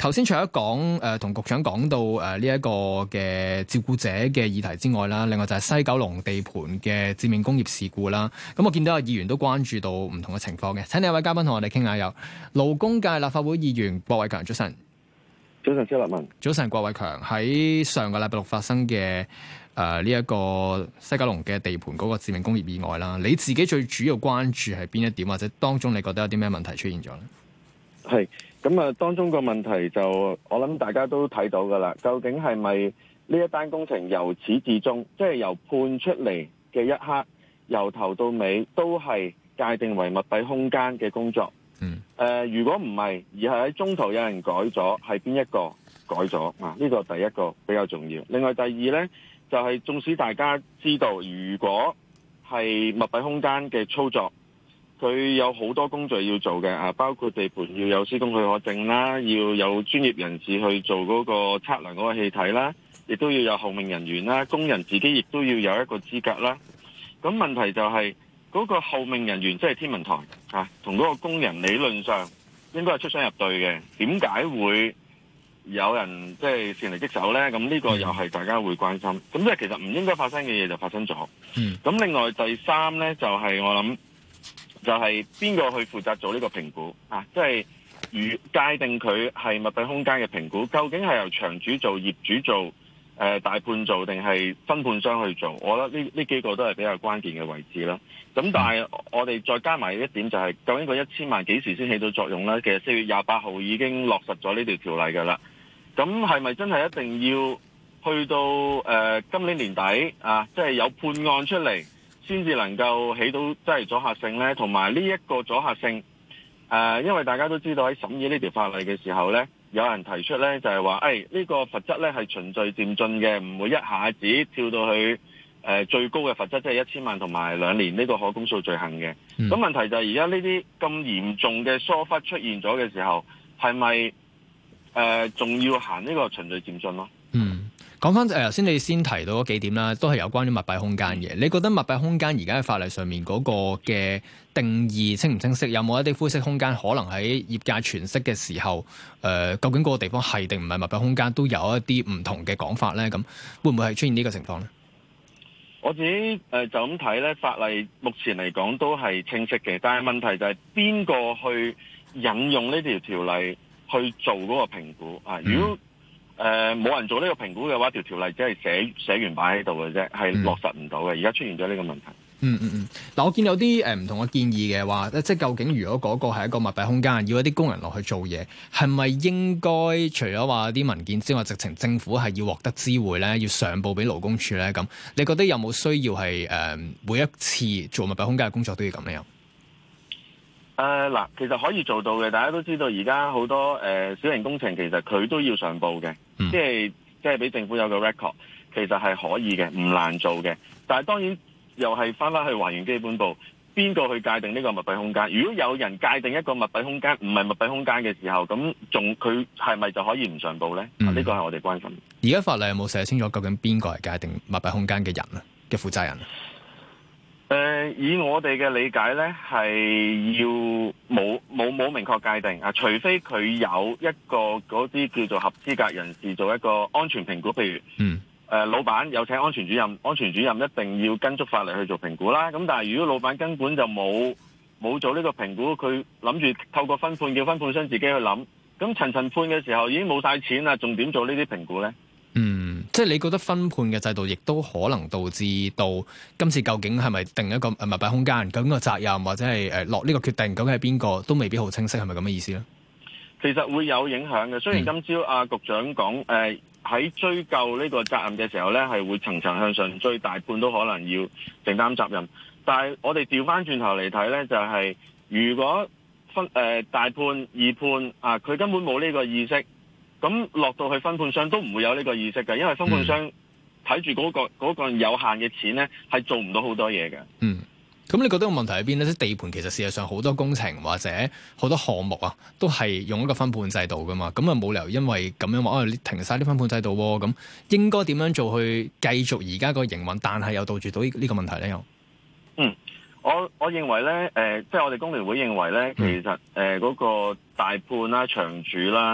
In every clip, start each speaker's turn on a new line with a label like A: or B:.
A: 頭先除咗講同局長講到呢一個嘅照顧者嘅議題之外啦，另外就係西九龍地盤嘅致命工業事故啦。咁我見到有議員都關注到唔同嘅情況嘅，請呢一位嘉賓同我哋傾下。有勞工界立法會議員郭偉強，早晨。
B: 早晨，蕭立文。
A: 早晨，郭偉強。喺上個禮拜六發生嘅呢一個西九龍嘅地盤嗰個致命工業意外啦，你自己最主要關注係邊一點，或者當中你覺得有啲咩問題出現咗咧？
B: 係咁啊，當中個問題就我諗大家都睇到噶啦，究竟係咪呢一單工程由始至終，即係由判出嚟嘅一刻，由頭到尾都係界定為密閉空間嘅工作？如果唔係，而係喺中途有人改咗，係邊一個改咗啊？呢個第一個比較重要。另外第二呢，就係縱使大家知道，如果係密閉空間嘅操作，佢有好多工序要做嘅啊，包括地盤要有施工許可證啦，要有專業人士去做嗰個測量嗰個氣體啦，亦都要有後命人員啦，工人自己亦都要有一個資格啦。咁問題就係嗰個後命人員即係天文台啊，同嗰個工人理論上應該係出雙入對嘅，點解會有人即係擅離職守呢？咁呢個又係大家會關心。咁即係其實唔應該發生嘅嘢就發生咗。咁另外第三呢，就係我諗就係邊個去負責做呢個評估啊？即係界定佢係密閉空間嘅評估，究竟係由場主做、業主做、大判做定係分判商去做？我覺得呢幾個都係比較關鍵嘅位置啦。咁但係我哋再加埋一點就係，究竟個1000萬幾時先起到作用呢？其實4月28號已經落實咗呢條條例㗎啦。咁係咪真係一定要去到今年年底啊？即係有判案出嚟先至能夠起到即係阻嚇性呢？同埋呢一個阻嚇性因為大家都知道喺審議呢條法例嘅時候呢，有人提出呢就係話，呢個罰則呢係循序漸進嘅，唔會一下子跳到去最高嘅罰則，即係1000萬同埋2年呢個可公訴罪行嘅。咁問題就係而家呢啲咁嚴重嘅疏忽出現咗嘅時候，係咪仲要行呢個循序漸進咯？
A: 講翻頭先你先提到嗰幾點啦，都係有關於密閉空間嘅。你覺得密閉空間而家喺法例上面嗰個嘅定義清唔清晰？有冇一啲灰色空間可能喺業界詮釋嘅時候，究竟嗰個地方係定唔係密閉空間，都有一啲唔同嘅講法咧？咁會唔會係出現呢個情況咧？
B: 我自己就咁睇咧，法例目前嚟講都係清晰嘅，但係問題就係邊個去引用呢條條例去做嗰個評估啊？如果冇人做呢個評估嘅話，條條例只係寫完擺喺度嘅啫，係落實唔到嘅。而家出現咗呢個問題。
A: 嗱，我見有啲唔同嘅建議嘅話，即係究竟如果嗰個係一個密閉空間，要一啲工人落去做嘢，係咪應該除咗話啲文件之外，直情政府係要獲得知會咧，要上報俾勞工處咧？咁你覺得有冇需要係每一次做密閉空間嘅工作都要咁樣？
B: 嗱，其實可以做到嘅。大家都知道而家好多小型工程其實佢都要上報嘅，即係俾政府有個 record， 其實係可以嘅，唔難做嘅。但係當然又係翻去還原基本步，邊個去界定呢個密閉空間？如果有人界定一個密閉空間唔係密閉空間嘅時候，咁佢係咪就可以唔上報呢？呢個係我哋關心。
A: 而家法例有冇寫清楚究竟邊個係界定密閉空間嘅人啊？嘅負責人？
B: 以我哋嘅理解呢，係要冇明確界定啊，除非佢有一個嗰啲叫做合資格人士做一個安全評估，譬如老闆有請安全主任，安全主任一定要跟足法例去做評估啦。咁但係如果老闆根本就冇做呢個評估，佢諗住透過分判叫分判商自己去諗，咁層判嘅時候已經冇晒錢啦，仲點做呢啲評估呢？
A: 即係你覺得分判嘅制度亦都可能導致到今次究竟係咪定一個密閉空間，究竟個責任或者係落呢個決定究竟係邊個，都未必好清晰，係咪咁嘅意思咧？其
B: 實會有影響嘅。雖然今朝局長講喺追究呢個責任嘅時候咧，係會層層向上追，大判都可能要承擔責任。但係我哋調翻轉頭嚟睇咧，就係如果大判二判啊，佢根本冇呢個意識。咁落到去分判商都唔會有呢個意識嘅，因為分判商睇住嗰個有限嘅錢咧，係做唔到好多嘢嘅。
A: 咁你覺得個問題喺邊咧？即地盤其實事實上好多工程或者好多項目啊，都係用一個分判制度噶嘛。咁啊冇理由因為咁樣話你停晒啲分判制度喎。咁應該點樣做去繼續而家個營運，但係又杜絕到呢個問題咧？又
B: 我認為咧，即係我哋工聯會認為咧，其實嗰個大判啦、場主啦。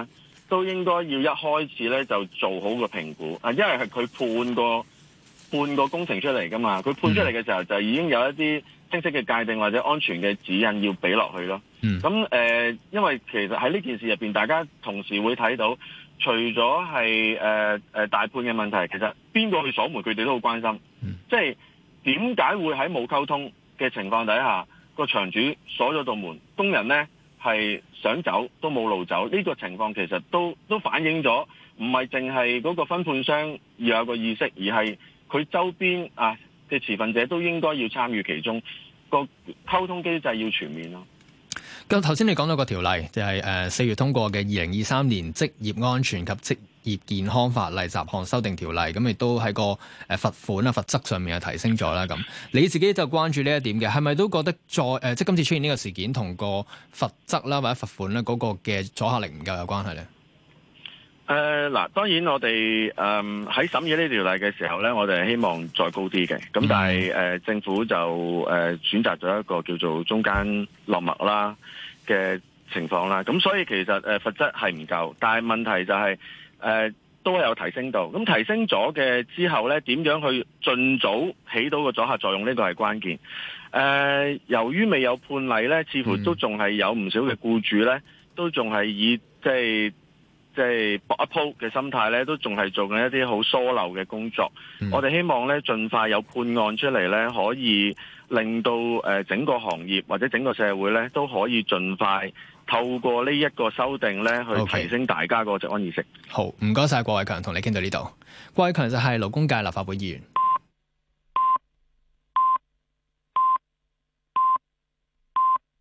B: 都應該要一開始咧就做好個評估啊，因為係佢判個工程出嚟噶嘛，佢判出嚟嘅時候就已經有一啲清晰嘅界定或者安全嘅指引要俾落去咯。咁因為其實喺呢件事入邊，大家同時會睇到，除咗係大判嘅問題，其實邊個去鎖門，佢哋都好關心。即係點解會喺冇溝通嘅情況底下，個場主鎖咗道門，工人呢係想走都冇路走，呢個情況其實都反映咗，唔係淨係嗰個分判商要有個意識，而係佢周邊嘅持份者都應該要參與其中，個溝通機制要全面咯。
A: 咁頭先你講到個條例，就係4月通過嘅2023年職業安全及職業健康法例雜項修訂條例，咁亦都喺個罰款啊罰則上面係提升咗啦。咁你自己就關注呢一點嘅，係咪都覺得即係今次出現呢個事件同個罰則啦或者罰款咧嗰個嘅阻嚇力唔夠有關係咧？
B: 嗱，當然我哋喺審議呢條例嘅時候咧，我哋係希望再高啲嘅。咁但係政府就選擇咗一個叫做中間落墨啦嘅情況啦。咁所以其實罰則係唔夠，但係問題就係都有提升到。咁提升咗嘅之後咧，點樣去盡早起到個阻嚇作用？呢個係關鍵。由於未有判例咧，似乎都仲係有唔少嘅僱主咧，都仲係以即係搏一鋪嘅心態咧，都仲係做緊一啲好疏漏嘅工作。我哋希望咧，盡快有判案出嚟咧，可以令到整個行業或者整個社會咧，都可以盡快透過呢一個修訂咧，去提升大家個職安意識。
A: 好，唔該晒郭偉強，同你傾到呢度。郭偉強就係勞工界立法會議員。